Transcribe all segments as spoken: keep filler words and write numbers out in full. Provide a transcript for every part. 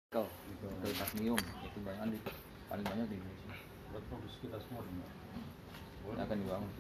Nikel, nikel kadmium itu banyak di paling banyak di Indonesia. Buat produksi kita semua dong. Yang akan dibangun.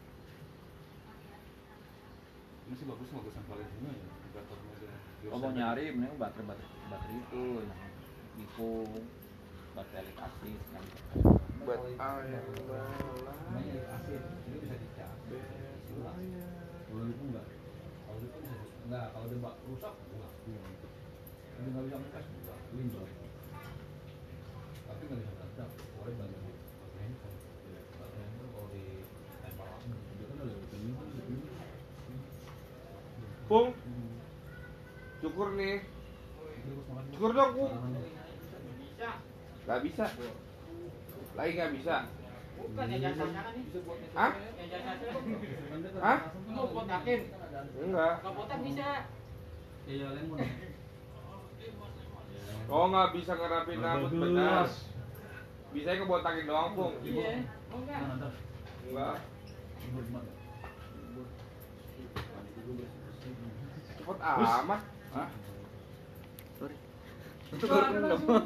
Ini sih bagus bagusan Valentino ya, inverternya dia. Oh, mau nyari mending baterai baterai baterai itu yang Vivo baterai elit asli yang buat air namanya asli ini bisa dicas. Kalau itu enggak, kalau itu bisa enggak, kalau dia mbak rusak enggak. Ini nggak bisa ngecas enggak, limbah. Tapi nggak bisa ngecas, boleh banyak di handphone. Baterai itu kalau di tempel dia kan ada begini kan begini. Pung, cukur nih, cukur dong Pung. Gak bisa, lagi gak bisa. Bukan ya jasanya kan nih. Hah? Ya jasanya. Hah? Mau botakin. Enggak. Kalau botak bisa. Iya lemon. Oh nggak bisa ngerapin rambut benar. Bisa kebotakin doang Pung. Iya. Oh enggak. Enggak. Cepet amat. Hah? Sorry. Tuh ada nasi uduk.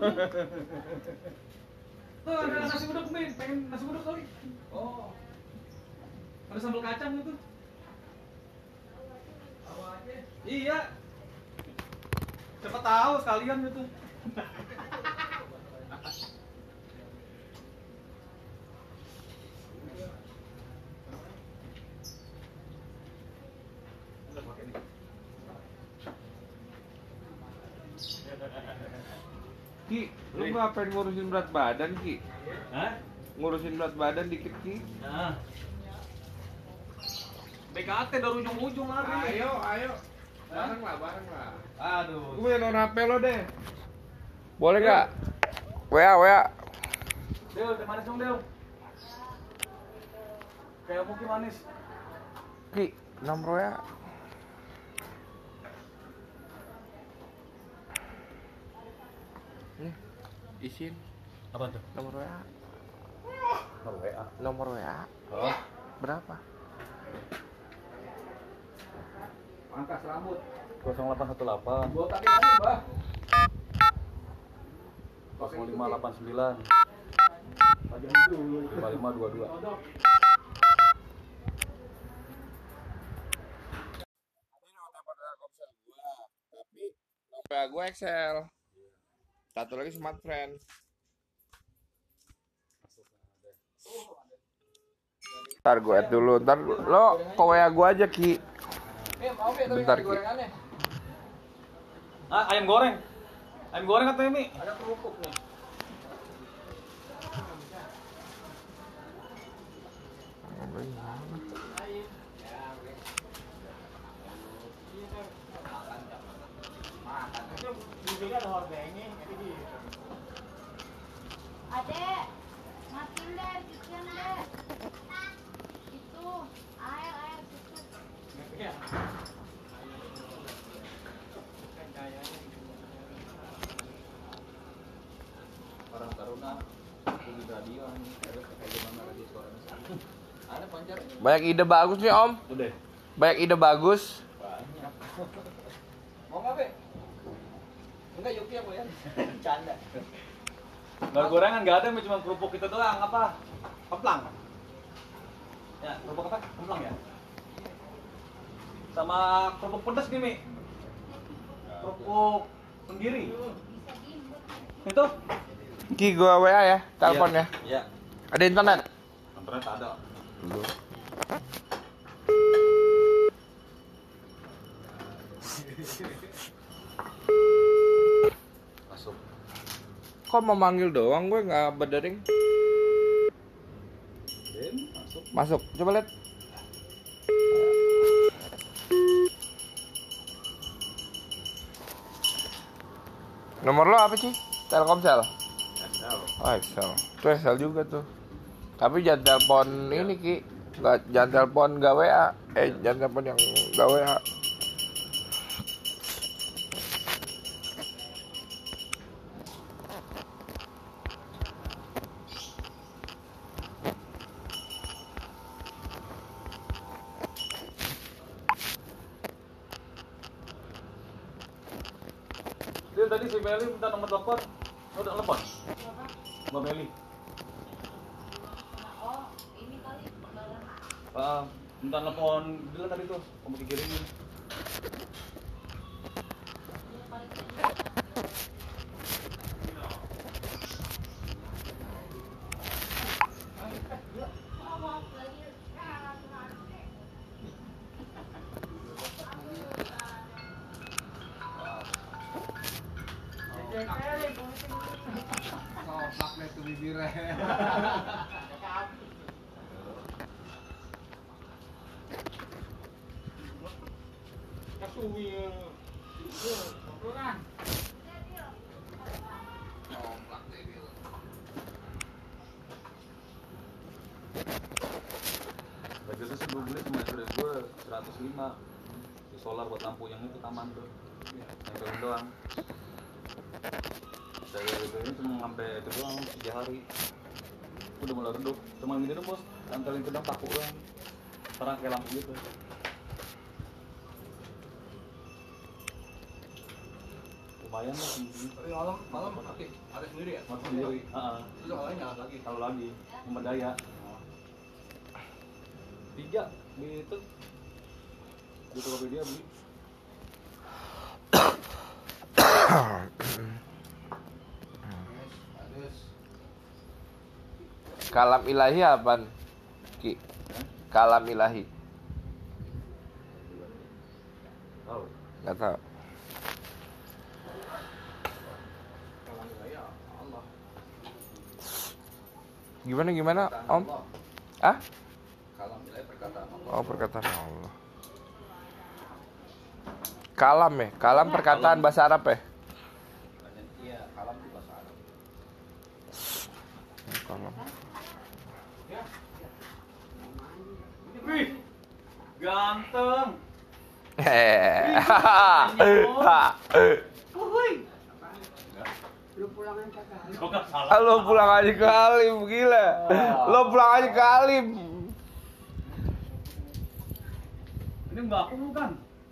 Tuh ada nasi uduk nih, pengen nasi uduk kali. Oh. Ada sambal kacang itu. Iya. Siapa tahu sekalian gitu. Ki, lu ngapain ngurusin berat badan Ki? Hah? Ngurusin berat badan dikit Ki. Nah. B K T dari ujung-ujung lari. Ayo, ayo. Bareng lah, bareng lah. Aduh. Gue punya nomor H P lo deh. Boleh gak? W A, W A. Del, teh manis dong, Del. Kayak mungkin manis. Ki, nomor W A. Nih, isin Apa tuh? nomor W A. Nomor W A. Nomor W A. Oh. Berapa? Pangkas rambut. nol delapan satu delapan Gua tadi tadi, Mbah. nol lima delapan sembilan Pajang dulu. lima lima dua dua. Kodok. Ini nomor telepon Telkomsel gua, tapi nomor W A gua Excel. Satu lagi Smart Friend. Ntar gue add dulu, ntar lo ke W A gua aja Ki. Eh, mau ya tapi Bentar, Ki. gorengannya. Ah, ayam goreng. Ayam goreng atau Mi? Ada kerupuk nih. Juga ada hordengnya, jadi gitu. Adek, matiin deh, cucian deh. Itu, air, air, cuci. Ya. Orang Taruna di radio ini ada kayak gimana radio suaranya. Ada pancar. Banyak ide bagus nih Om. Udah. Banyak ide bagus. Banyak. Mau nggak, Be? Enggak, Yuki aku ya. Canda. Nggak gorengan nggak ada, Mi, cuma kerupuk kita doang. Apa? Keplang. Ya, kerupuk apa? Kemplang ya? Sama kerupuk pedas nih, Mi. Kerupuk sendiri. Itu? Ki gua W A ya, telepon ya. Iya. Ada internet? Internet ada. Masuk. Kok mau manggil doang gue nggak berdering? Dem, masuk. Masuk, coba lihat. Nomor lo apa sih? Telkomsel. Excel. Oh Excel. Tuh Excel juga tuh. Tapi jangan telepon ini Ki. Nggak, jangan telepon nggak W A. Eh jangan telepon yang nggak W A. Dia tadi si Meli minta nomor telepon. Udah telepon. Mbak Meli. Oh, ini kali barang. Ah, minta telepon dulu tadi tuh, kamu dikirimin. Ini paling Soplak itu bibirnya. Kasuwi. Soplak Budgetnya sih gue beli cuma dari gue seratus lima. Di solar buat lampu yang itu taman tuh. Yang doang. Saya gitu ini cuma sampai itu doang tiga hari. Udah mulai redup. Cuma gini dong bos, tempelin ke dalam paku doang. Terang kayak lampu gitu. Lumayan lah segini. Tapi malam malam aktif, ada sendiri ya? Mati sendiri. Heeh. Itu yang lain nyala lagi. Kalau lagi memberdaya. Tiga di itu. Di Tokopedia beli. Kalam ilahi apaan? Ki. Kalam ilahi. Tahu. Enggak tahu. Kalam wilayah Allah. Gimana gimana, Perkataan Om? Allah. Ah? Kalam wilayah perkataan Allah. Oh, perkataan Allah. Kalam ya? Kalam perkataan bahasa Arab ya? Iya, kalam itu bahasa Arab. Kalam. Wih. Ganteng. Hehehe. Kok gak salah? Lo pulang aja ke Halim, gila. Lo pulang aja ke Halim. Ini mbak aku bukan?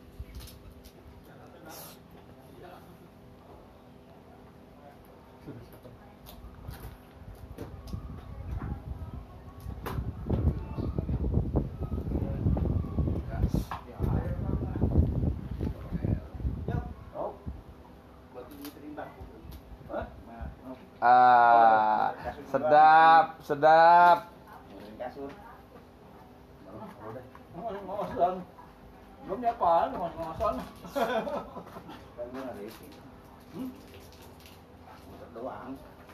Ah, sedap, sedap. Belum nyapa, mau ngomong doang.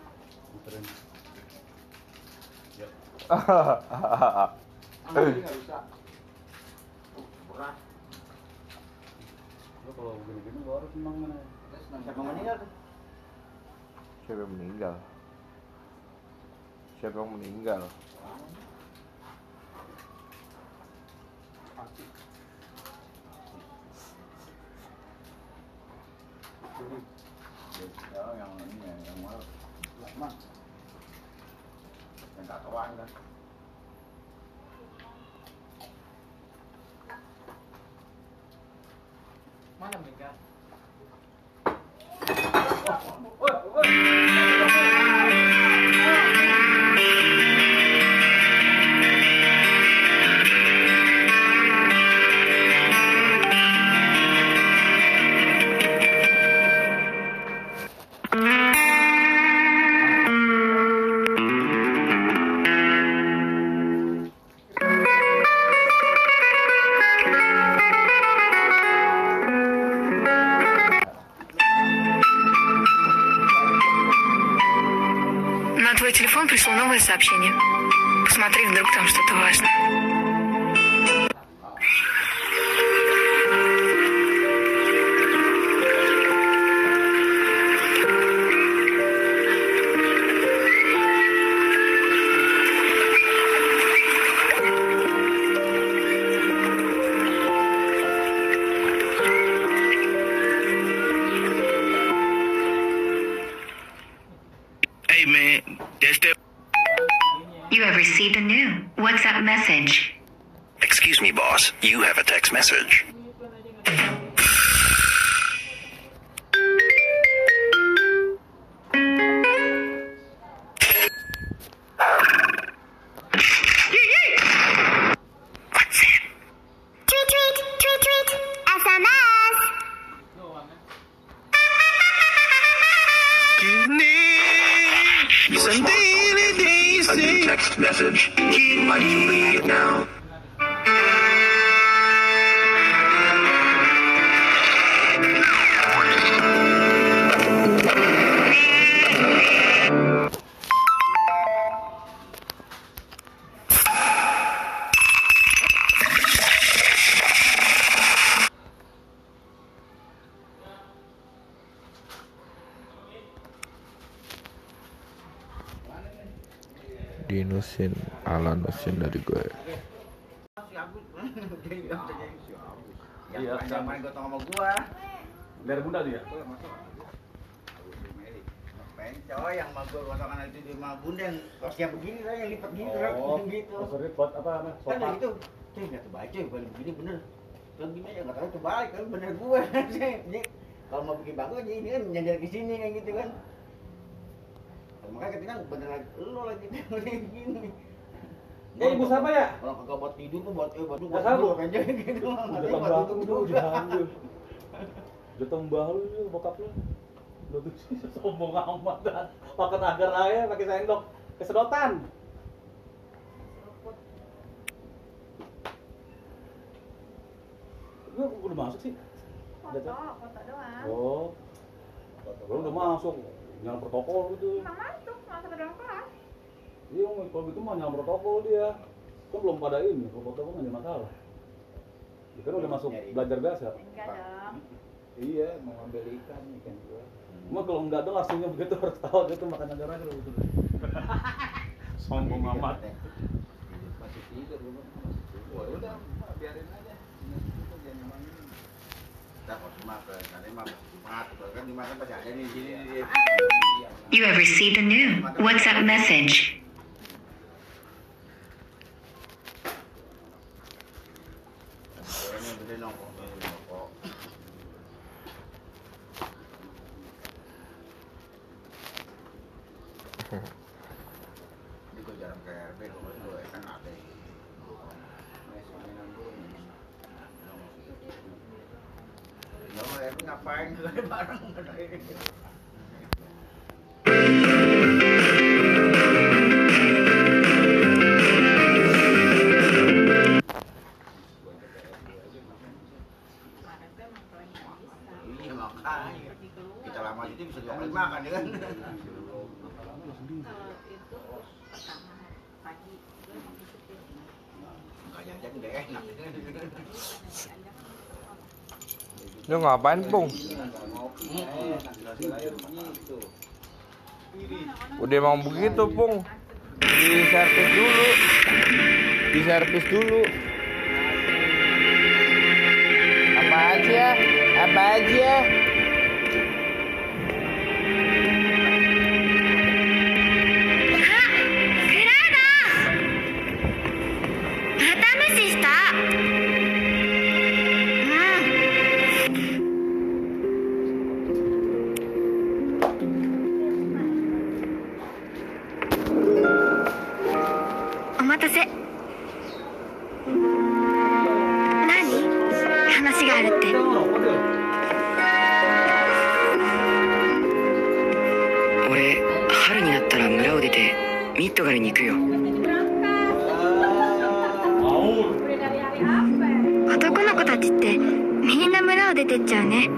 Nggak bisa. Berat. Lo kalau begini-gini lo harus senang mana? Siapa meninggal tuh? Siapa yang meninggal? Siapa yang meninggal? Pasti. Ya, yang ini ya, yang mana? Lama. Yang tatoan kan. Mana Mika? На твой телефон пришло новое сообщение. Посмотри, вдруг там что-то важное. Hey man, that's that. You have received a new WhatsApp message. Excuse me, boss. You have a text message. Some daily days. A new text message. He'd like to read it now. Dinusin ala nusin dari gue. Iya, Yang main gotong sama gua. dari bunda dia. Ngapain coy yang sama gua gotongan itu di sama bunda yang siap begini lah yang lipat gitu lah gitu. Maksudnya buat apa namanya? Kan dari itu, cuy nggak kebaca kalau begini bener. Kalau gini aja nggak tahu kebalik kan bener gua. Jadi kalau mau bikin bagus aja ini kan nyender ke sini kayak gitu kan. Makanya ketika bener lagi lo lagi begini. Eh, ibu siapa ya? Kalau kagak buat tidur tuh buat eh buat Nggak sabu. buat aja gitu. Udah Buat tambah duduk lu juga. diambil. Udah tambah lu bokap lu. Lu tuh sombong amat dah. Makan agar aja pakai sendok. Kesedotan. Lu udah masuk sih? Foto, foto doang. Oh. Lu udah masuk. Nyala protokol gitu. Emang masuk, masuk ke dalam kelas. Iya, kalau gitu mah nyala protokol dia. Kan belum pada ini, kalau protokol nggak ada masalah. Dia kan udah masuk belajar biasa. Enggak dong. Iya, mau ambil ikan, ikan gua. Cuma kalau nggak ada langsungnya begitu harus tahu gitu makan agar aja gitu. Sombong amat. Masih tidur gua. Wah, udah biarin aja. Jangan ngomongin. Kita kok cuma ke sana mah kan dimakan pasti ada di sini. You have received a new WhatsApp message. Ini bener nongkrong nongkrong. Ini gue jarang ke R B, gue kan ada. Ya Allah, R B ngapain? Gue bareng. Iya makanya kita lama itu bisa dua kali makan ya kan. Kalau itu pertama pagi gue mau disitu. Nggak jajan udah enak. Lu ngapain, Pung? Udah mau begitu, Pung. Di servis dulu. Di servis dulu. Apa aja? Apa aja? お待たせ。何？話があるって。 俺、春になったら村を出てミッドガルに行くよ。 男の子たちってみんな村を出てっちゃうね。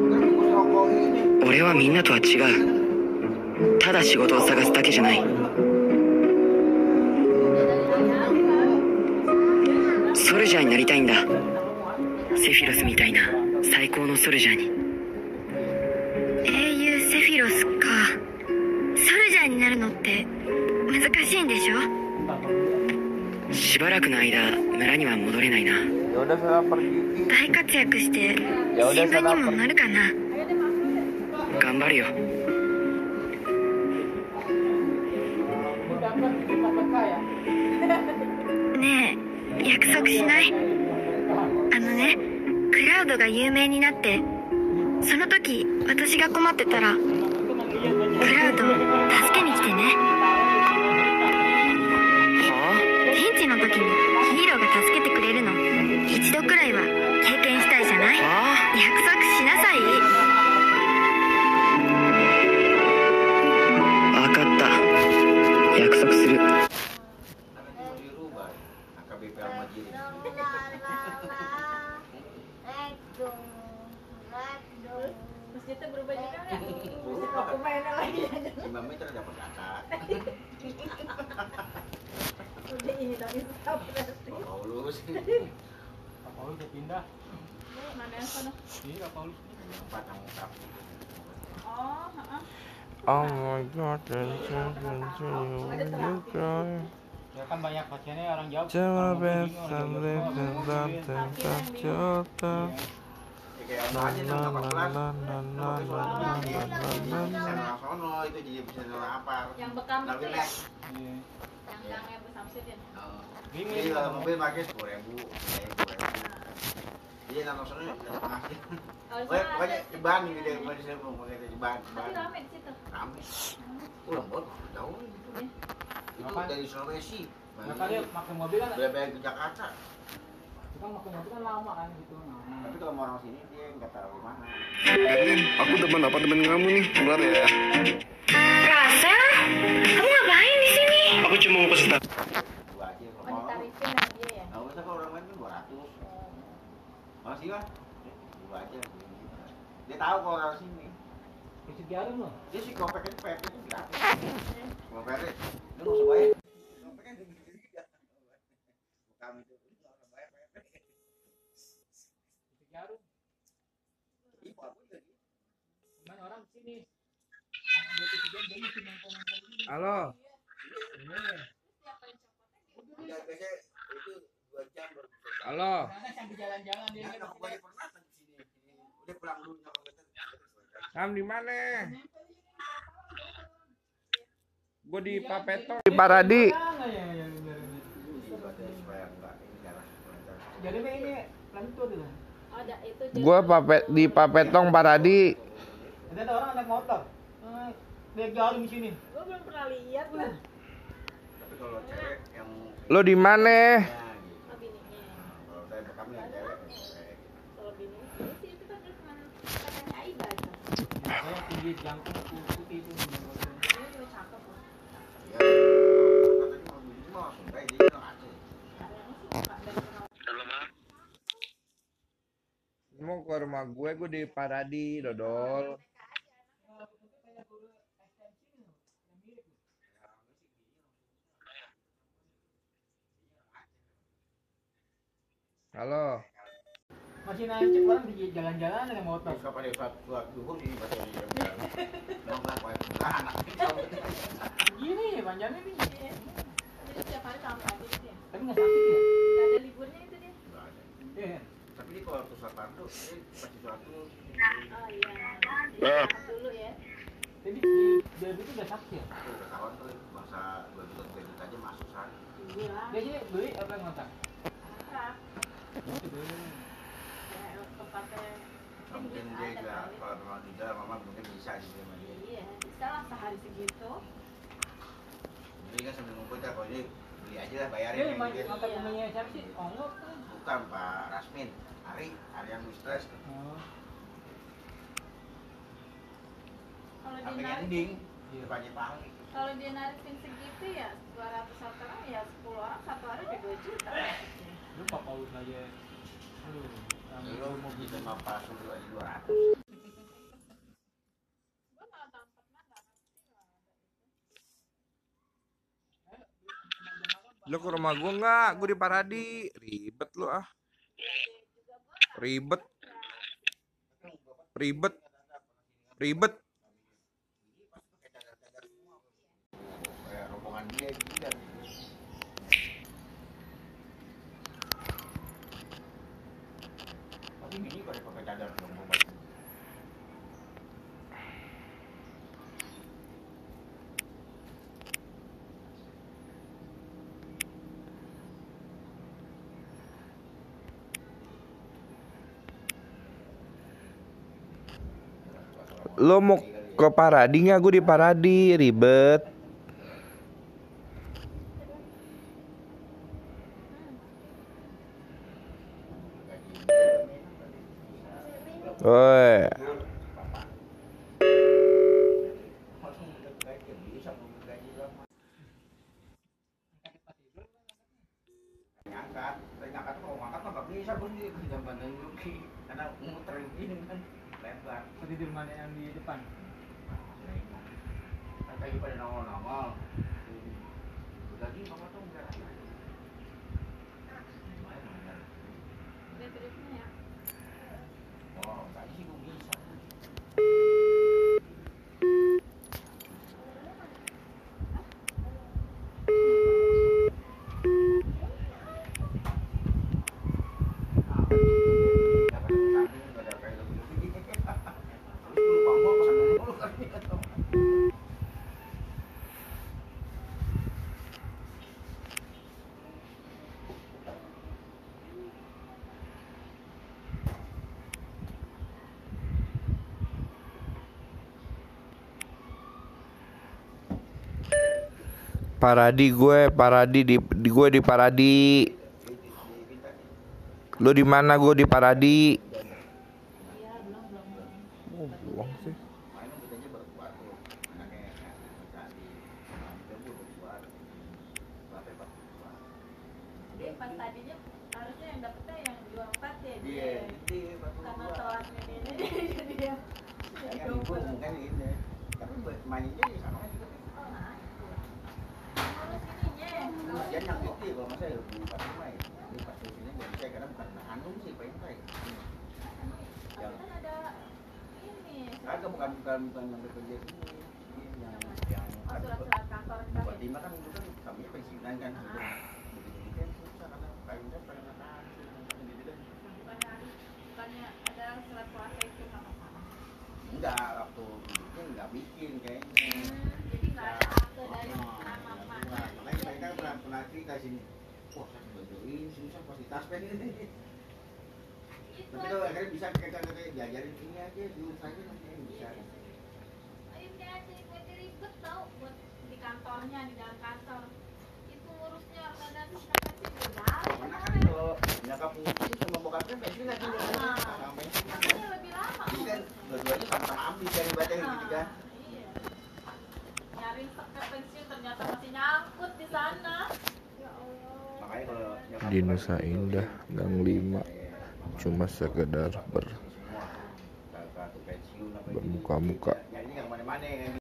俺はみんなとは違う。ただ仕事を探すだけじゃない。ソルジャーになりたいんだ。セフィロスみたいな最高のソルジャーに。 英雄セフィロスか。ソルジャーになるのって難しいんでしょ。 しばらくの間村には戻れないな。 大活躍して新聞にもなるかな。 頑張るよ。 ねえ、約束しない？あのね、クラウドが有名になってその時私が困ってたらクラウド助けに来てね。 はあ？ ピンチの時にヒーローが助けてくれるの一度くらいは経験したいじゃない？ はあ？ 約束しなさい。 分かった。 lagi. lima meter dapat kakak. Udah ini dong Insta berarti. Pak Paulus. Pak Paulus udah pindah. Ini mana yang sana? Iya, Pak Paulus. Empat yang utap. Oh, heeh. Oh my god, dan dan you cry. Ya kan banyak pasiennya orang jauh. Coba orang besan Bogor, live orang dan Bogor, orang dan Bogor. dan jota. Ya kayak ono aja Na yang na delapan belas. na na na na na na na. Bisa nolak sono itu jadi bisa nolak apa? Yang bekam itu ya? Iya. Yang gangnya Bu Samsud ya? Oh. Bingung. Jadi kalau mobil pakai sepuluh ribu, sepuluh ribu. Jadi nonton sono setengah sih. Kalau Pokoknya sana pokoknya ada Jeban ini dia mau disebut pokoknya Jeban. tapi rame di situ. Rame. Oh lembut, jauh gitu. Iya. Itu Apa? dari Sulawesi. Nah, kali pakai mobil kan, Udah bayar ke Jakarta. kita pakai mobil kan lama kan gitu. Nah, Tapi kalau mau orang sini dia nggak terlalu mahal. Aku demen apartemen kamu nih. Keluar ya. Rasa? Kamu ngapain di sini? Aku cuma mau pesen. Dua aja kalau Oh, mau. ditarifin sama dia ya? Nggak usah kalau orang lain kan dua ratus. Masih lah. Dua aja. Dia tahu kalau orang sini. isi jarum loh. Dia sih kopek itu P R itu gratis. Mau P R, dia nggak usah bayar. Kopek kan gede-gede. Bukan itu, nggak usah bayar P R. Isi jarum. Ih, Pak, aku jadi. Cuman orang sini. Anak dia tuh dia mesti nongkrong-nongkrong sini. Halo. Iya. Udah biasanya itu dua jam baru bisa. Halo. Karena sambil jalan-jalan dia Ya, dia aku balik pernah kan di sini. Udah pulang dulu nyokap kita. Kamu di mana? Gue di Papeto. Di Paradi. Jadi ini lentur tuh. Ada itu. Gue papet di Papetong Paradi. Ada orang naik motor. Eh, Dia jarum di sini. Gue belum pernah lihat lah. Tapi kalau cewek yang Lo di mana? ya, gitu. Oh, bininya. Kalau saya bekam yang cewek kayak Kalau bininya ini sih itu kan terus mana katanya Aiba itu. Saya tinggi jangkung putih itu. Ini juga cakep loh. ya, katanya mau begini mah langsung kayak dia bilang aja. Kayaknya sih nggak dari kenal. Mau ke rumah gue, gue di Paradi, Dodol. Halo. Masih naik cek orang di jalan-jalan ada motor. Terus kapan dia suatu suatu duhur sih pas dia bilang. Memang lah kayak anak. Gini panjangnya nih. Iya. Jadi setiap hari sampai aja gitu ya. Tapi nggak sakit ya? Nggak ada liburnya itu dia. Nggak ada. Iya. Tapi dia kalau tuh Sapardo, dia pasti suatu Oh iya. Jadi dulu ya. Jadi di dia itu udah sakit ya? itu udah kawan tuh bangsa dua juta tiga juta aja masuk sana. Iya. Dia sih beli apa yang ngotak? Akrab. Ya tempatnya. Nggak mungkin dia juga kalau memang di dalam mama mungkin bisa gitu sama dia. Iya. Bisa lah sehari segitu. Jadi kan sambil ngumpul kan kalau dia beli aja lah bayarin Dia yang main dia. ngotak punya siapa sih? Ongok kan? Bukan Pak Rasmin, Ari, Ari yang stres. Oh. Kalau dia Sampai narik, ending, Iya. banyak pahali. kalau dia narikin segitu ya dua ratus orang ya sepuluh orang satu hari udah dua juta. Lu Pak Paulus aja. Aduh. Ambil Lu mau gitu gitu. sama Pak Sulu aja dua ratus. Gua nggak tahu pernah nggak ngerti lah ada itu. Lo ke rumah gue nggak? Gue di Paradi. Ribet lo ah. Ribet. Ribet. Ribet. Kayak rombongan dia gitu kan. Tapi ini kalau dia pakai cadar dong mau baju. Lo mau ke Paradi nggak? Gue di Paradi. Ribet. Woi. Ngangkat, tapi ngangkat tuh kalau ngangkat mah nggak bisa bos dia tidak pandang Yuki karena muter gini kan lebar. Seperti di rumah yang di depan. lagi pada nongol-nongol. Lagi mama tuh enggak ada. Lihat tripnya ya. Oh, tadi sih gue bisa. Paradi gue, Paradi di, di gue di Paradi. Lu di mana? Gue di Paradi. Oh, buang sih. Dia pas tadinya harusnya yang dapetnya yang dua empat ya. Iya, dia. Karena telat ini jadi dia. Jadi kan ibu double. mungkin ini. Tapi mainnya ya sama aja. Dia yang itu kalau masa ya bukan main. Ini pas sini nggak bisa karena bukan handung sih pentai. Yang Kan ada ini. agak bukan bukan bukan yang bekerja ini yang yang Oh, surat-surat kantor kita. buat lima kan itu kan kami pensiunan kan. Begitu kan susah karena kayunya pengen makan gitu kan. Bukannya bukannya ada surat kuasa itu sama sama. Enggak, waktu bikin enggak bikin kayaknya. Jadi nggak ada akte dari nama mana. Makanya saya kan pernah pernah cerita sini. Wah, saya bedoin susah pasti taspen ini. Itu Tapi kalau akhirnya bisa kayak kayak diajarin ini aja dulu saja nanti bisa. ini aja itu ribet tau buat di kantornya di dalam kantor. Itu ngurusnya kadang kadang sih benar. Karena kan kalau nyakap mungkin sama bokapnya bensin aja dulu. Sama bensin kan. Makanya lebih lama. Jadi kan dua-duanya sama-sama ambil dari baterai gitu kan. Iya. Nyari sekat pensiun ternyata masih nyangkut di sana. Ya Allah. Makanya kalau nyakap Di Nusa Indah, Gang lima. Cuma sekedar ber bermuka-muka. ya ini yang mana-mana yang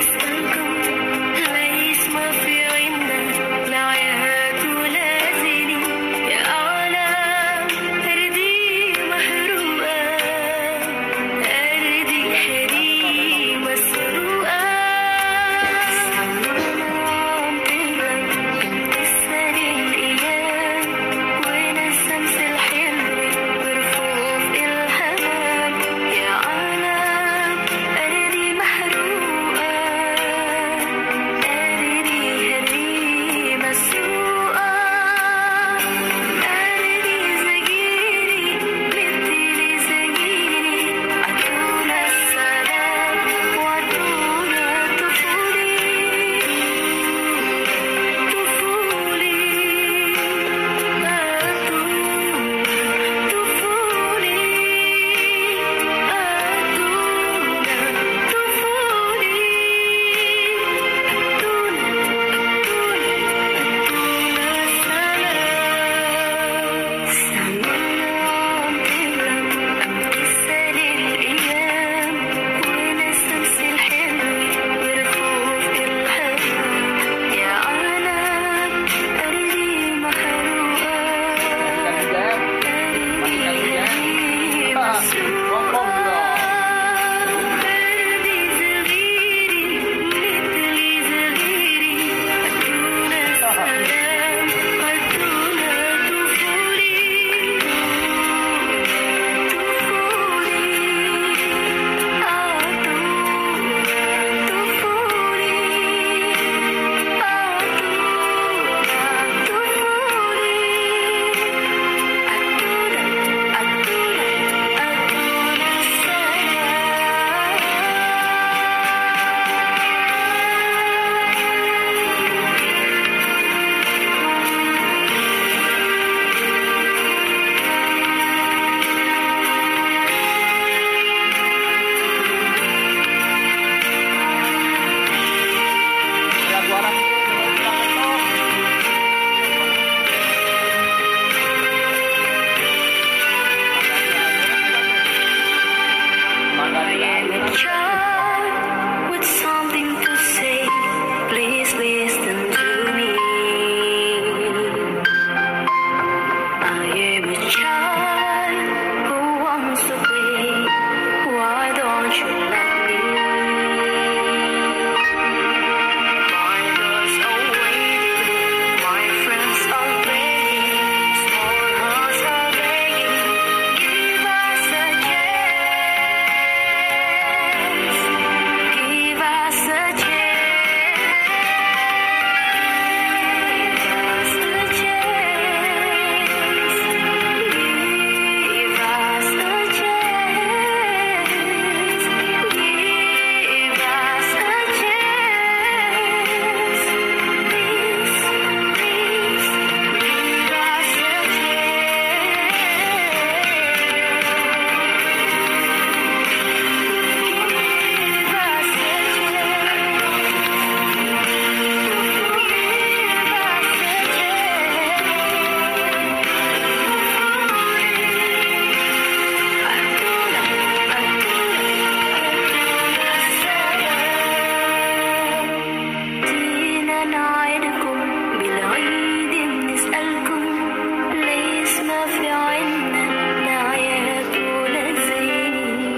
ليس ما في عندك لا يا تولازني child who wants to play. Why don't you let me? My doors are waiting, my friends are begging, small hearts are begging. Give us a chance. Give us a chance. Give us a chance. Give us a chance. Give us a chance. Please, please, give us a جينا نعدكم بالعيد بنسألكم ليش ما في عنا نعيات ولا زين.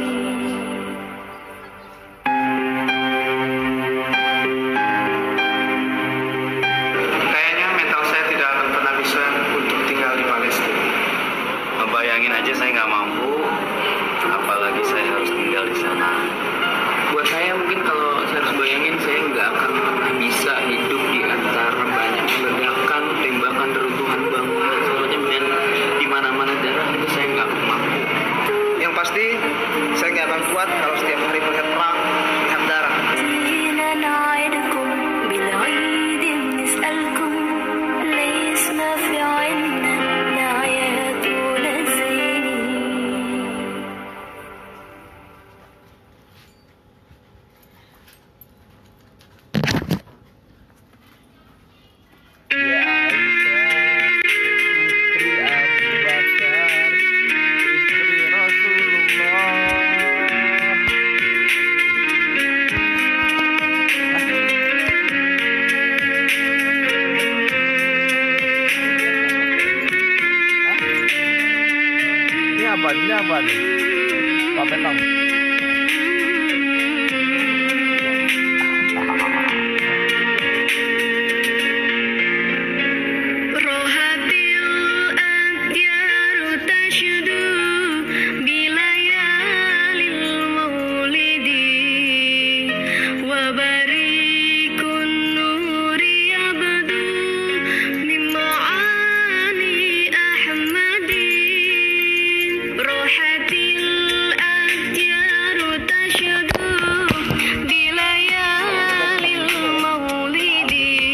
Kayaknya mental saya tidak akan pernah bisa untuk tinggal di Palestina. Ngebayangin aja saya nggak mampu, apalagi saya harus tinggal di sana. Buat saya mungkin kalau saya harus bayangin, saya nggak akan pernah bisa hidup di antara banyak ledakan, tembakan, reruntuhan bangunan, soalnya men di mana-mana darah itu saya nggak mampu. Yang pasti saya nggak akan kuat kalau setiap hari melihat perang, melihat darah. جينا نعدكم بالعيد بنسألكم ليش ما في عنا نعيات ولا زين. Ya Aisyah, putri Abu Bakar, istri Rasulullah. Hah? Ini apa? Ini apa nih? Pak Petong. روحتي الأديار تشدو بليالي المولد وبريق النور يبدو من معاني أحمد. روحتي الأديار تشدو بليالي المولد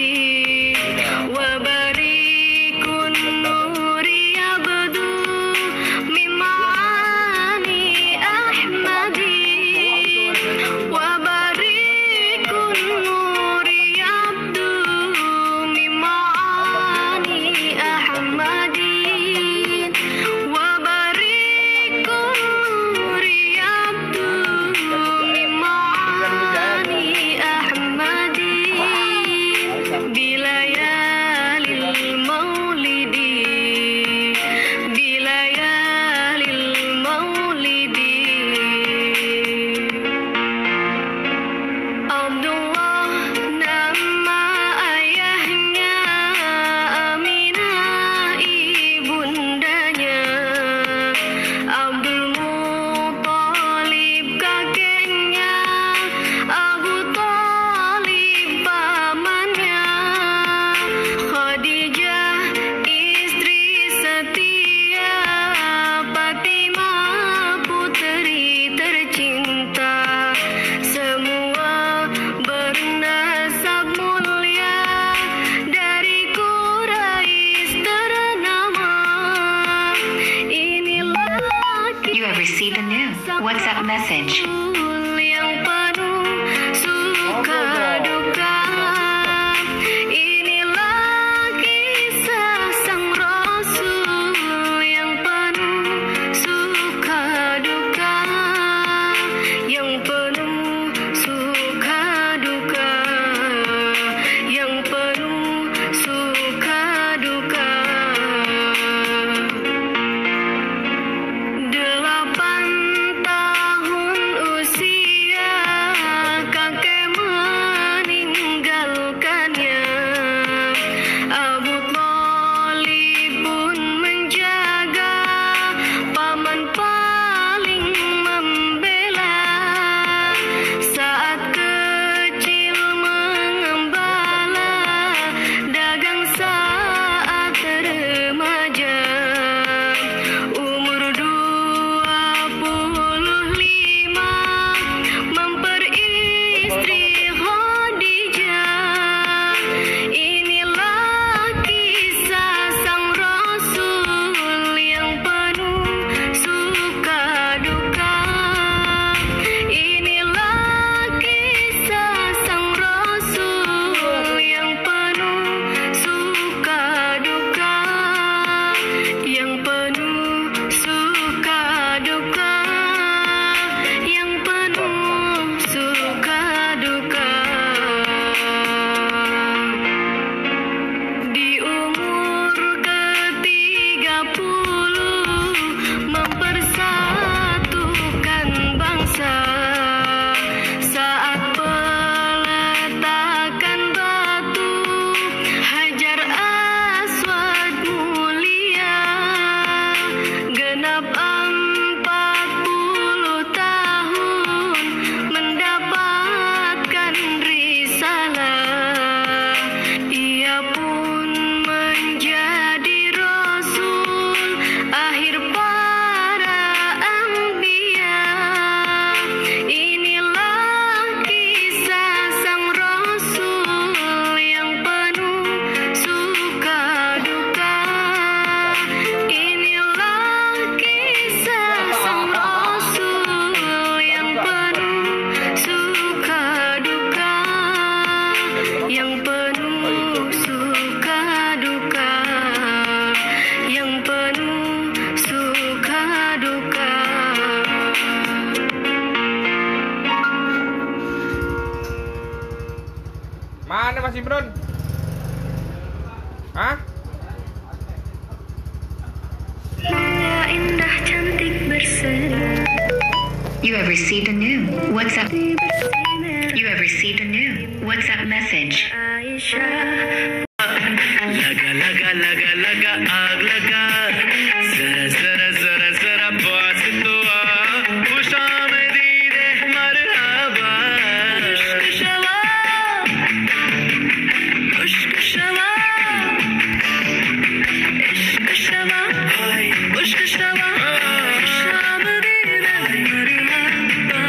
وبريق النور يبدو من معاني أحمد. وبريق النور يبدو من معاني أحمد. وبريق النور يبدو من معاني أحمد. بليالي المولد بليالي المولد Abdullah nama ayahnya, Aminah ibundanya, Abdul Muthalib kakeknya, Abu Thalib pamannya, Khadijah istri setia, Fatimah putri tercinta, semua bernasab mulia dari Quraisy ternama. Inilah You have received a new WhatsApp message. yang penuh suka duka. Inilah kisah sang Rasul yang penuh suka duka, yang penuh suka duka, yang penuh suka duka. You have received a new WhatsApp. You have received a new WhatsApp message. लगा लगा लगा लगा आग लगा जरा जरा जरा जरा पास तो आ खुशामदीद मरहबा इश्क शवा इश्क शवा इश्क शवा इश्क शवा खुशामदीद मरहबा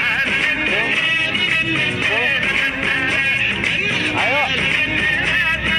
Ayo.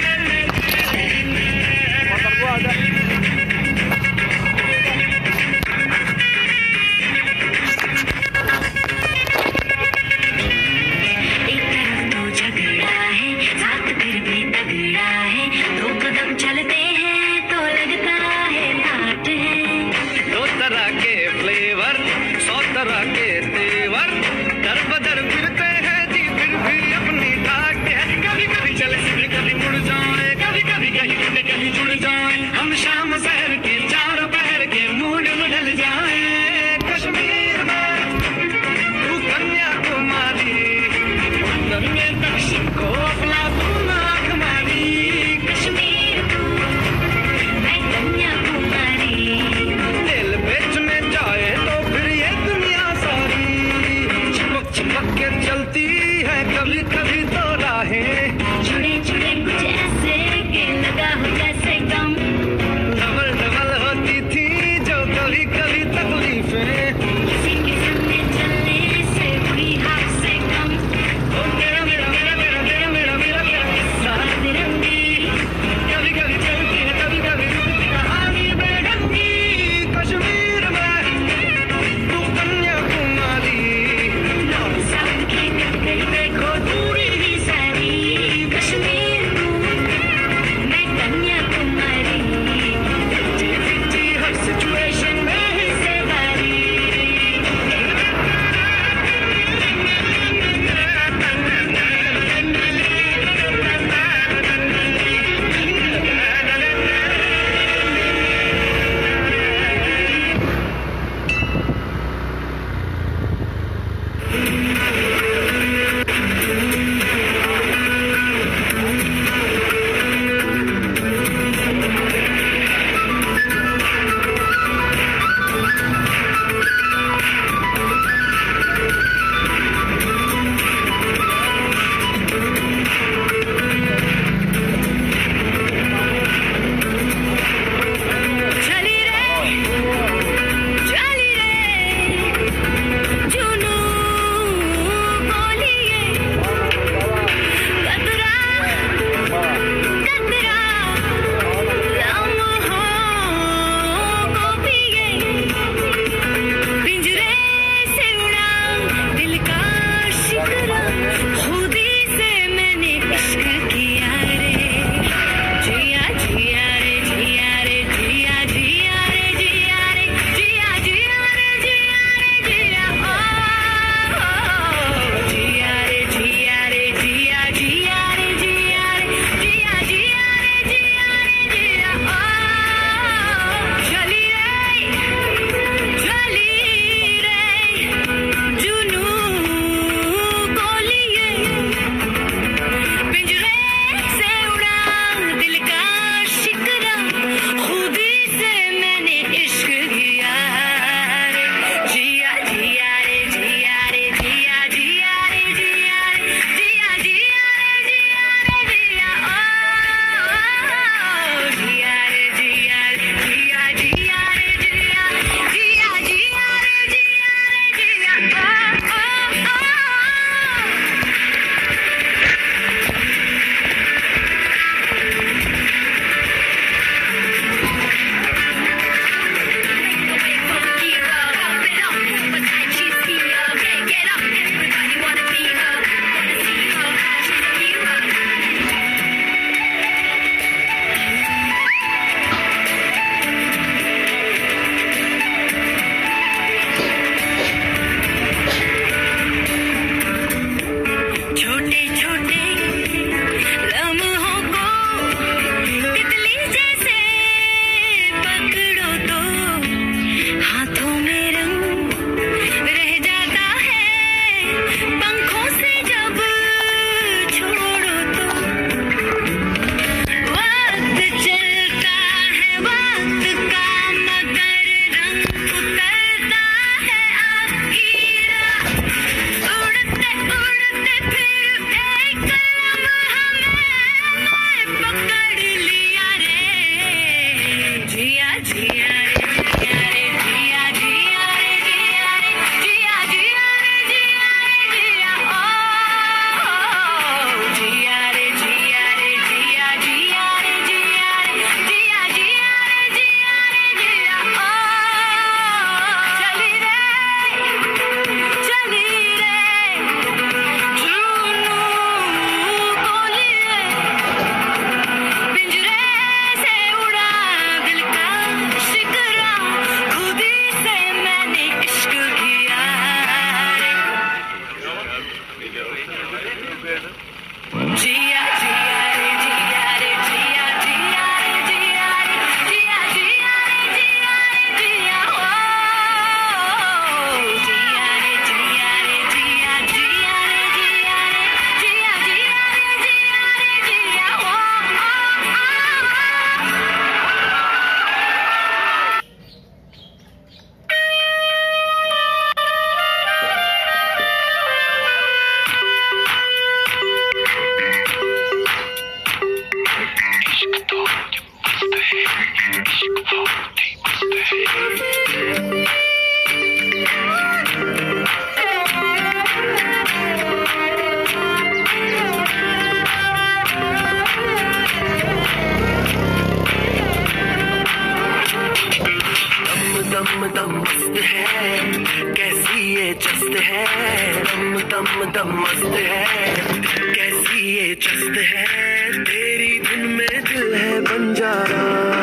मस्त है तेरी धुन में दिल है बंजारा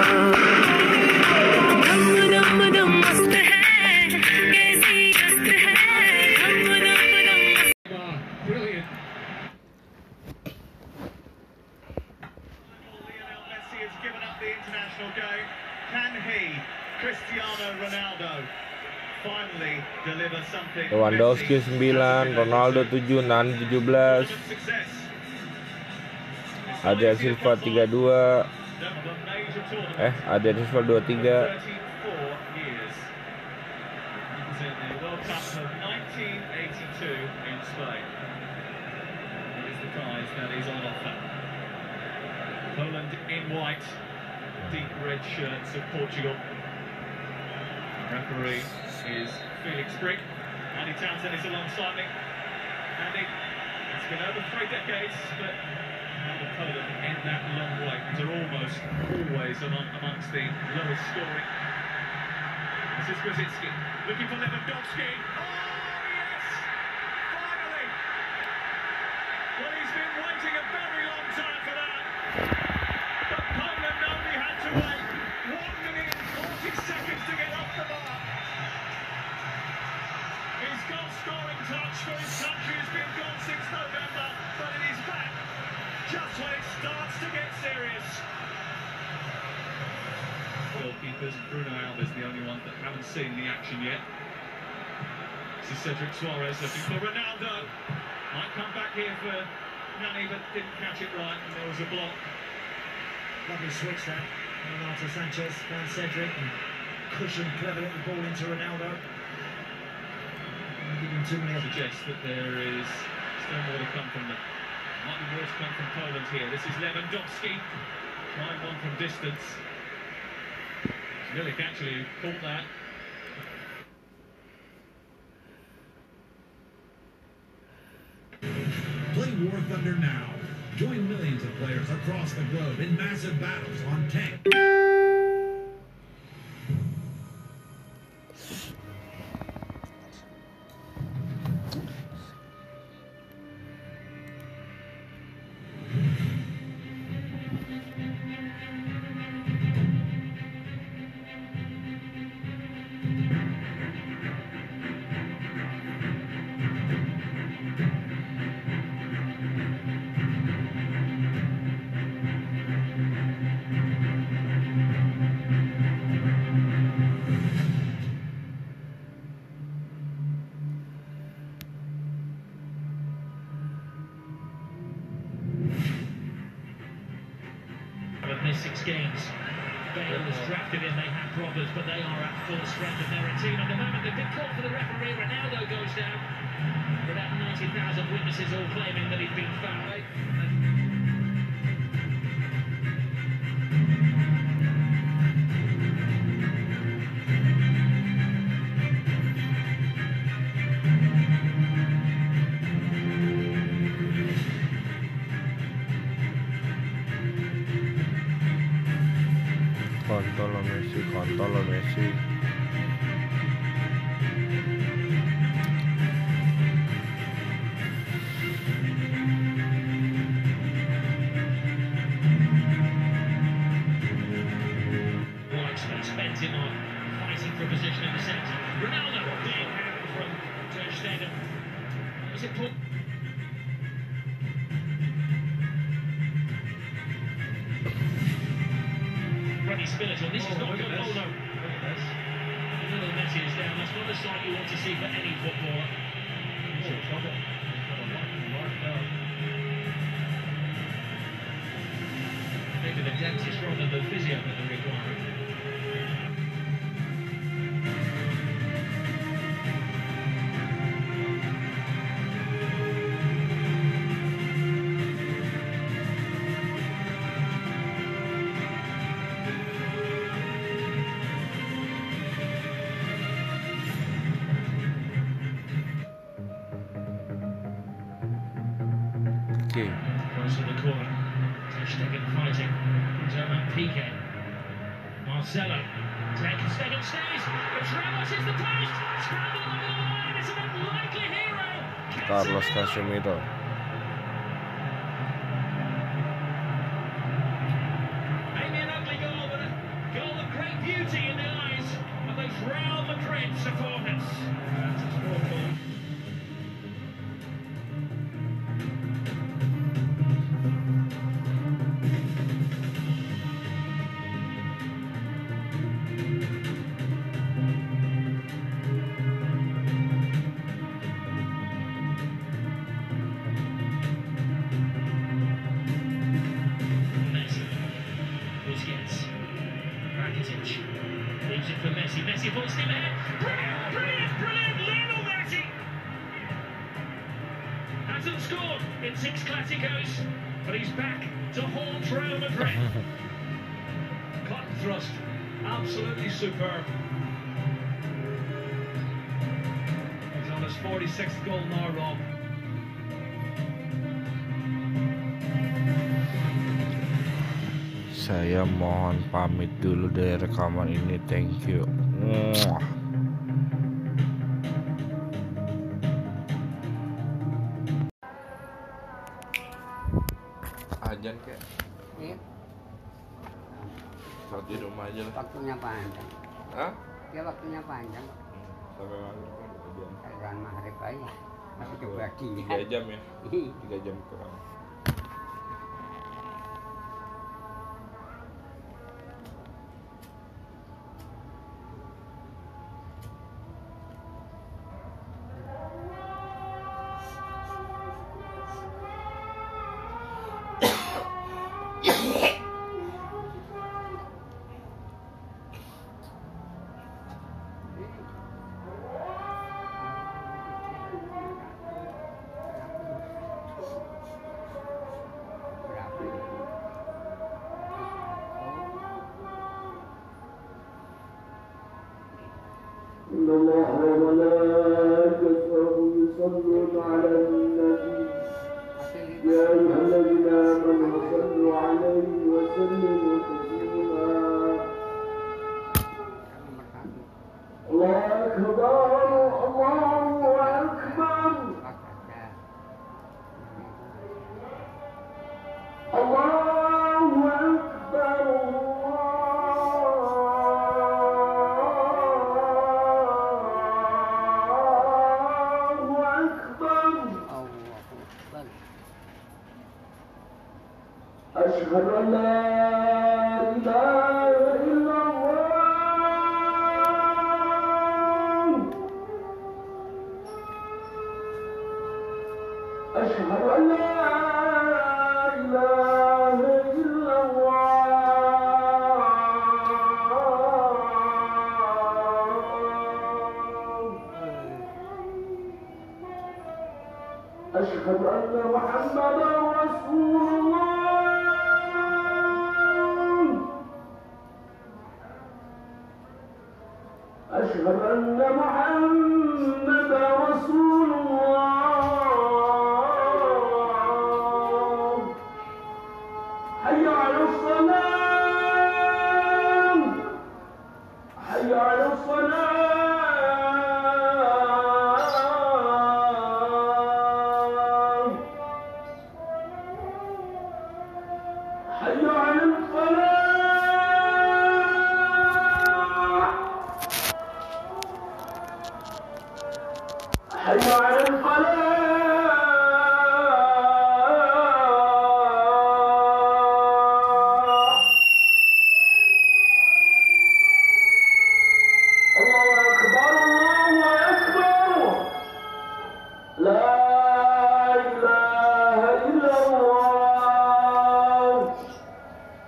धम धम धम मस्त है कैसी मस्त है धम धम धम Brilliant. Lionel Messi has given up the international game. Can he, Cristiano Ronaldo, finally deliver something? Lewandowski sembilan, Ronaldo tujuh, Nani tujuh belas, Adrian Silva tiga dua, eh Adrian Silva dua tiga. nineteen eighty-two in Spain. Here's the prize that is on offer. Poland in white, deep red shirts of Portugal. Referee is Felix Brink. Andy Townsend is alongside me. Andy, it's been over three decades, but how the Poland end that long way? They're almost always among, amongst the lowest scoring. This is Grzycki looking for Lewandowski. Oh yes! Finally! Well, he's been waiting a very long time for that. But Poland only had to wait one minute and forty seconds to get off the bar. His goal-scoring touch for his country has been gone since November, but it is back just when it starts to get serious. Goalkeepers, Bruno Alves the only one that haven't seen the action yet. This is Cedric Suarez looking for Ronaldo. Might come back here for Nani, but didn't catch it right, and there was a block. Lovely switch there. Renato Sanchez found Cedric and cushioned cleverly the ball into Ronaldo. Giving too many Suggests that there is still more to come from them. Might be more to come from Poland here. This is Lewandowski trying one from distance. Milik actually caught that. Play War Thunder now. Join millions of players across the globe in massive battles on tank. Six games. Bale was drafted in, they had problems, but they are at full strength and they're a team at the moment. They've been called for the referee. Ronaldo goes down. About ninety thousand witnesses all claiming that he's been fouled. Kontol lo Messi, kontol lo Messi. White spent him on fighting for a position in the centre. Ronaldo, big hand from Ter Stegen. Was it put? Spiritual. This is not good. Oh no. Little Messi is down. That's not the sight you want to see for any footballer. Maybe the dentist rather than the physio that they're requiring. Close to the corner. Ter Stegen fighting. German Piqué. Marcelo. Ter Stegen stays. But Ramos is the post. Scramble over the line. It's an unlikely hero. Carlos Casemiro. Messi. Messi full steam ahead. Brilliant, brilliant, brilliant. Lionel Messi hasn't scored in six Clásicos, but he's back to haunt Real Madrid. Cotton thrust, absolutely superb. He's on his forty-sixth goal now, Rob. Saya mohon pamit dulu dari rekaman ini. Thank you. Mwah. Ajan kayak. Iya. Saat di rumah aja lah. Waktunya panjang. Hah? Ya waktunya panjang. Sampai maghrib kan dua jam. Kan maghrib aja. Masih kebagi. Tiga jam ya. Tiga jam kurang. إن الله وملائكته يصلون على النبي يا أيها الذين آمنوا صلوا عليه وسلموا تسليما الله أكبر الله أكبر الله أكبر أشهد أن لا إله إلا الله أشهد أن لا إله إلا الله أشهد أن محمدا رسول الله أشهد أن محمدا رسول الله حي على الصلاة حي على الصلاة حي على الفلاح حي على الفلاح الله أكبر الله أكبر لا إله إلا الله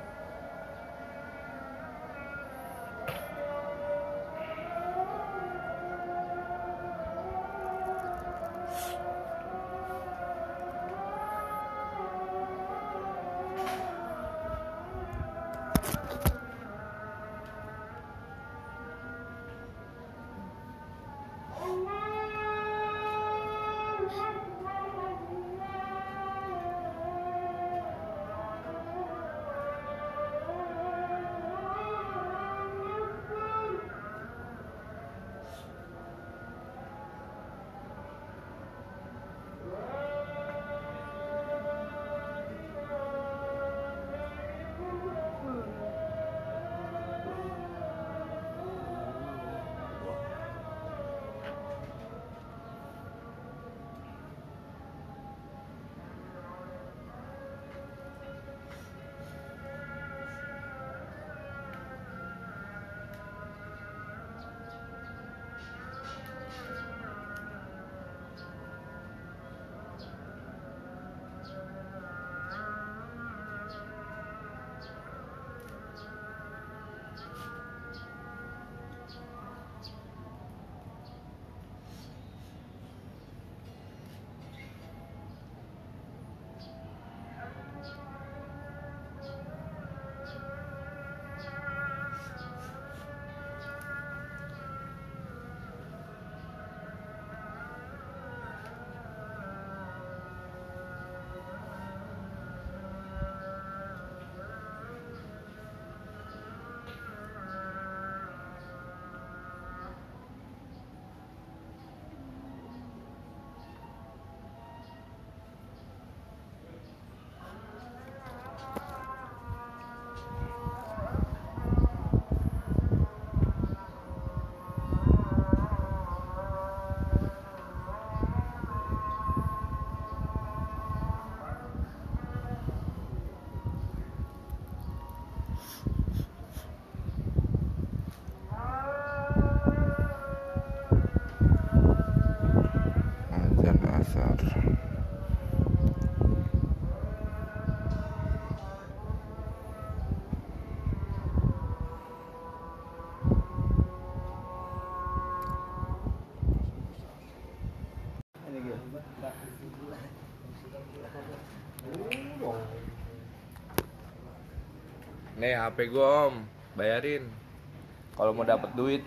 Nih H P gua om, bayarin. Kalau mau dapat duit.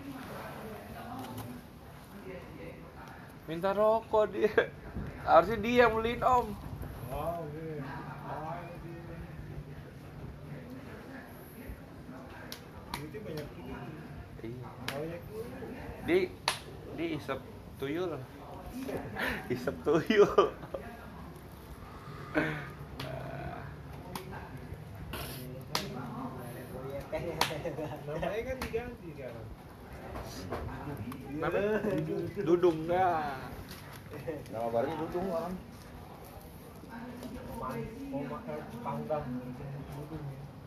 Minta rokok dia. Harusnya dia yang beliin om. Oh, oke. Duitnya banyak juga. Iya. Banyak dulu. Di di isep tuyul. Isep tuyul. Namanya kan diganti kan. Nama Dudung dah. Nama barunya Dudung orang. Mau makan panggang Dudung.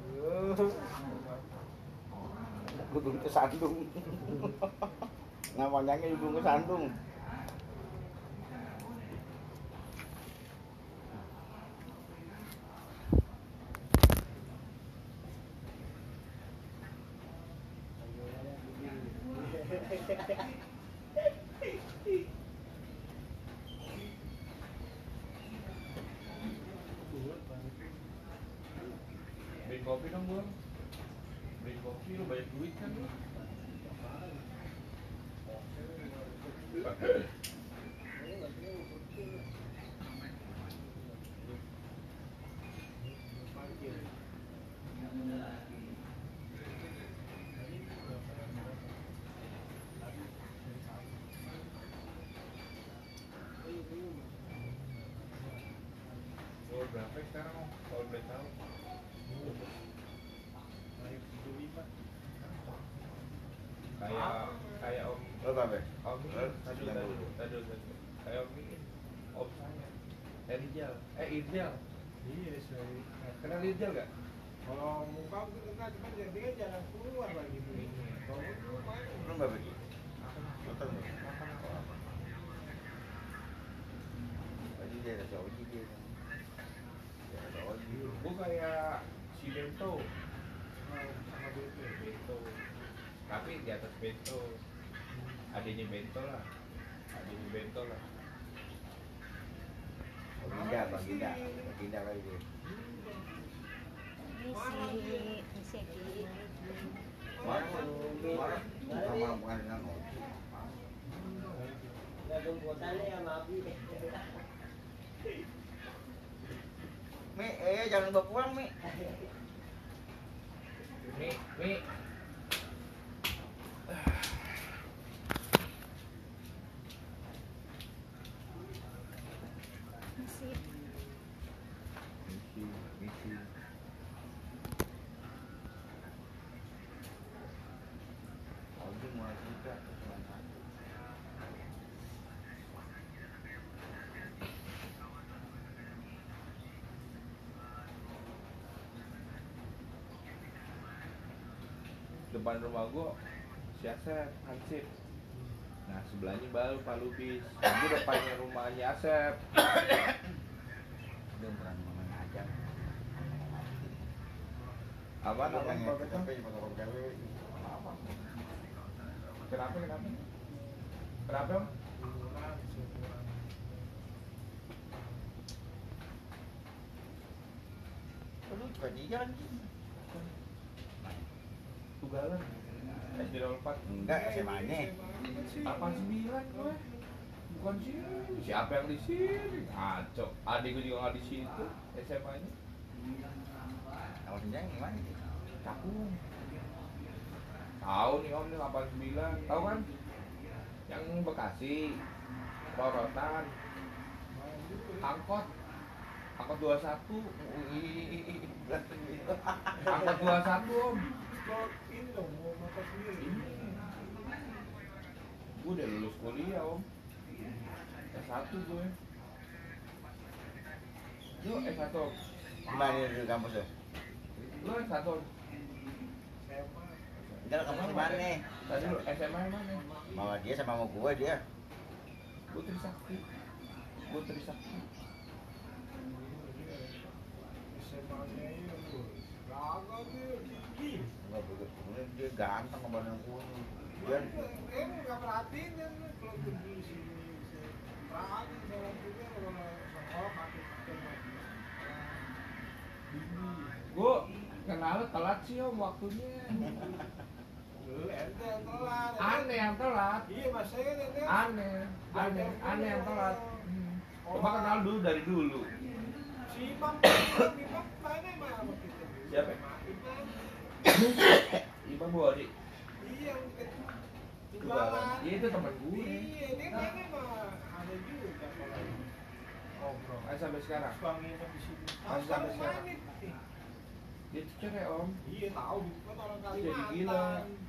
Dudung ke Sandung. Namanya Dudung ke Sandung. Beli kopi dong gua. Beli kopi lu banyak duit kan lu. Oh, berapa sekarang om? Kalau boleh tahu. Naik tujuh puluh lima. Kayak kayak om Lo berapa? om ini tadi tadi tadi tadi kayak om ini om saya eh Rijal eh Irjal Iya, saya. kenal Irjal gak? Kalau muka aku kenal, cuman dia dia jarang keluar lagi duit. Kalau itu main. Lo berapa? Nonton lo. Tadi dia ada Saudi dia. Dia ada Saudi. Gua kayak si Bento Sama duit Bento tapi di atas Bento adanya Bento lah adanya Bento lah Baginda, Baginda, Baginda kali dia. Misi, misi Ki. Sama bukan dengan lo. Mi, eh jangan bawa pulang Mi. Mi Mi Misi. Misi, misi. Audi mulai juga. depan rumah gua si Asep Hansip. Nah sebelahnya baru Pak Lubis. Itu depannya rumahnya Asep. Dia bukan main aja. Apa namanya? Tapi fotokopi gawe apa? Kenapa kenapa? Kenapa? Om? Lu juga jalan Tugalan. S D empat. Enggak, S M A-nya. delapan sembilan gue. Bukan sini. Siapa yang di sini? Ngaco. Adik gue juga nggak di situ. S M A-nya. Kalau senjang gimana? Cakung. Tahu nih om nih delapan sembilan. Tahu kan? Yang Bekasi. Rorotan. Angkot. Angkot dua puluh satu. Angkot dua puluh satu om. Ini dong, mau makan sendiri. Gue udah lulus kuliah om. S satu gue. Lu S satu. Gimana di kampus ya? Lu S satu. Entar kampus di mana nih? Tadi lu S M A mana? Mau dia sama mau gue dia. Gue Trisakti. Gue Trisakti. S M A-nya ini gagah dia, gigi. Enggak begitu. Kemudian dia ganteng sama badan gue. Dia Eh, nggak perhatiin kan kalau pergi di sini. Perhatiin sama juga kalau sekolah pakai pakai Gue kenal Padahal telat sih om waktunya. Lu ente yang telat. Aneh yang telat. Iya mas saya ente. Aneh, aneh, aneh yang telat. Hmm. Coba kenal dulu dari dulu. Si Imam, Imam, Imam mana emang sama kita? Siapa? Imam. Imam Buhori. Iya yang dekat Tunggalan. Iya itu teman gue. Iya dia mana emang ada juga kalau ngobrol. Masih sampai sekarang. Suka nginep di sini. Masih sampai sekarang. Dia tuh cerai om. Iya tahu kan orang Jadi Kalimantan. gila.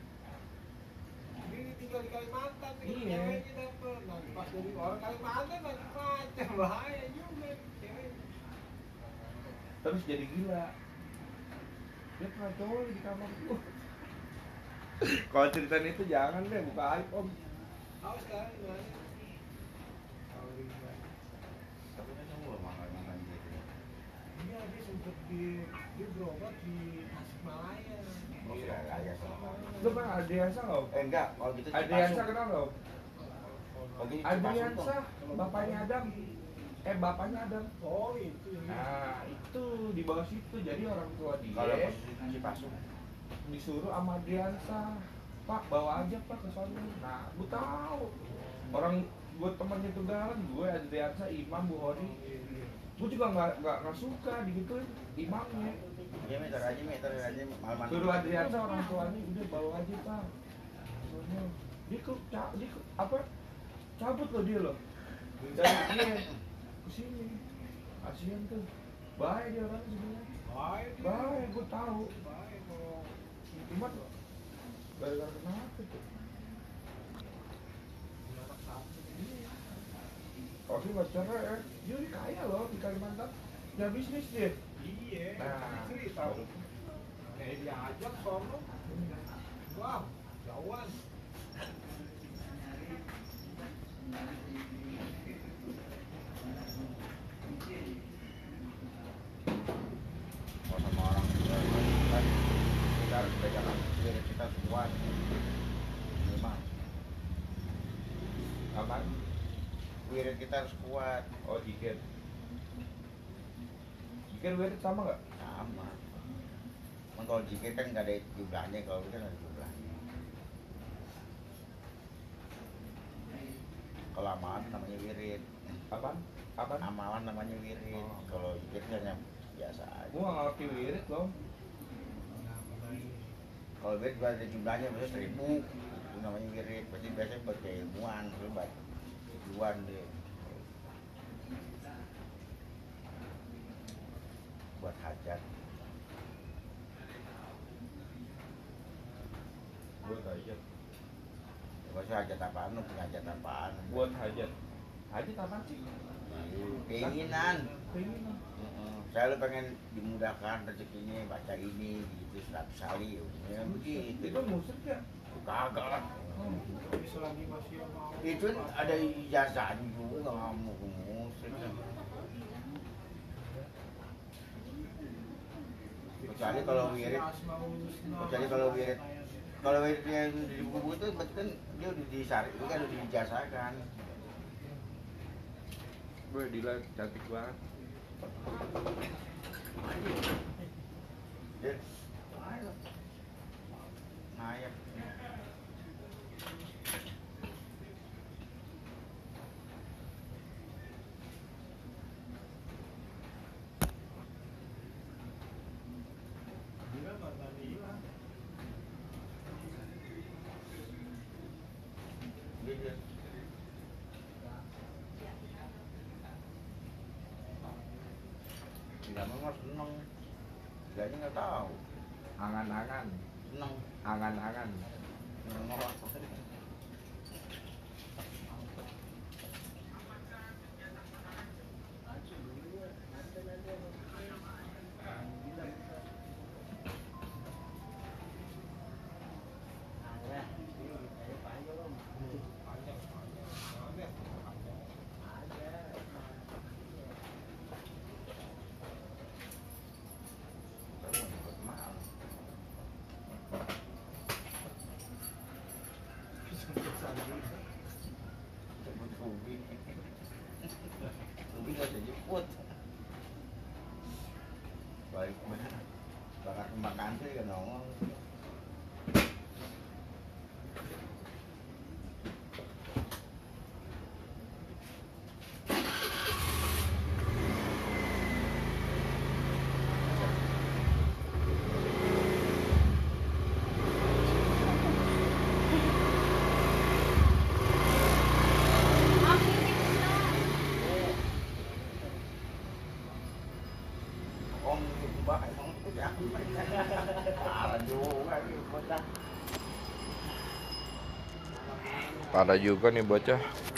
Ini tinggal di Kalimantan, tinggal Iya. ceweknya dapet. Nah pas dari orang Kalimantan macam-macam bahaya juga cewek. Terus jadi gila. Dia pernah coli di kamar gua. Kalau ceritain itu jangan deh, buka aib om. Tahu sekarang gimana? Tahu di mana? Tapi kan kamu loh makan-makan gitu. Iya dia sempet di dia berobat di Tasikmalaya. Oh sudah kaya sama. Lu kan Adriansa nggak om? Eh enggak, kalau gitu Adriansa kenal nggak om? Kalau gitu Adriansa, bapaknya Adam. Eh bapaknya Adam. Oh itu. Nah itu di bawah situ, jadi orang tua dia. Kalau posisi Cipasung disuruh sama Adriansa, Pak bawa aja Pak ke sana. Nah, gue tahu orang gue temannya Tunggalan, gue Adriansa, Imam, Buhori. Gue juga nggak nggak nggak suka digituin imamnya. Iya meter aja meter aja malam-malam. Suruh Adriansa orang tuanya udah bawa aja Pak. Soalnya dia ke, ca- dia ke apa? Cabut loh dia loh. Dari dia ke sini. Kasian tuh. Baik dia orangnya sebenarnya. Baik. Baik, gue tahu. Baik kalau Cuma gara-gara kenapa tuh? anak satu. Oh sih nggak cerai ya? Dia udah kaya loh di Kalimantan. Ya bisnis dia. Iya. Nah. Cerita. Kayak diajak sono. Wah, jauhan. Kalau sama orang tua kan kita harus pegangan diri kita kuat. Memang. Apaan? Wirid kita harus kuat. Oh jikir. Jikir wirid sama nggak? Sama. Cuman kalau jikir kan nggak ada jumlahnya, kalau itu kan ada jumlahnya. Kalau amalan namanya wirid. Apaan? Apaan? Amalan namanya wirid. Oh. Kalau jikir kan yang biasa aja. Gua nggak ngerti wirid loh. Kalau wirid gua ada jumlahnya biasanya seribu. Itu namanya wirid. Berarti biasanya buat keilmuan, lu buat tujuan deh. Buat hajat. Buat hajat. Maksudnya hajat apaan, lu punya hajat apaan? Buat hajat. Hajat apaan sih? Keinginan. Keinginan. Heeh. Saya lu pengen dimudahkan rezekinya, baca ini gitu seratus kali ya begitu. Itu musik ya? Kagak lah. Tapi selagi masih mau. Itu ada ijazahnya juga, nggak mau ke musik. Kecuali kalau wirid, kecuali kalau wirid, kalau wirid yang di buku itu berarti kan dia udah disari, itu kan udah diijazahkan. Gue Dila cantik banget. Dia naik. Tidak memang seneng, dia nggak tahu. Angan-angan. Seneng, Angan-angan. seneng apa? bakar makan sih kan nongol. Parah juga nih bocah.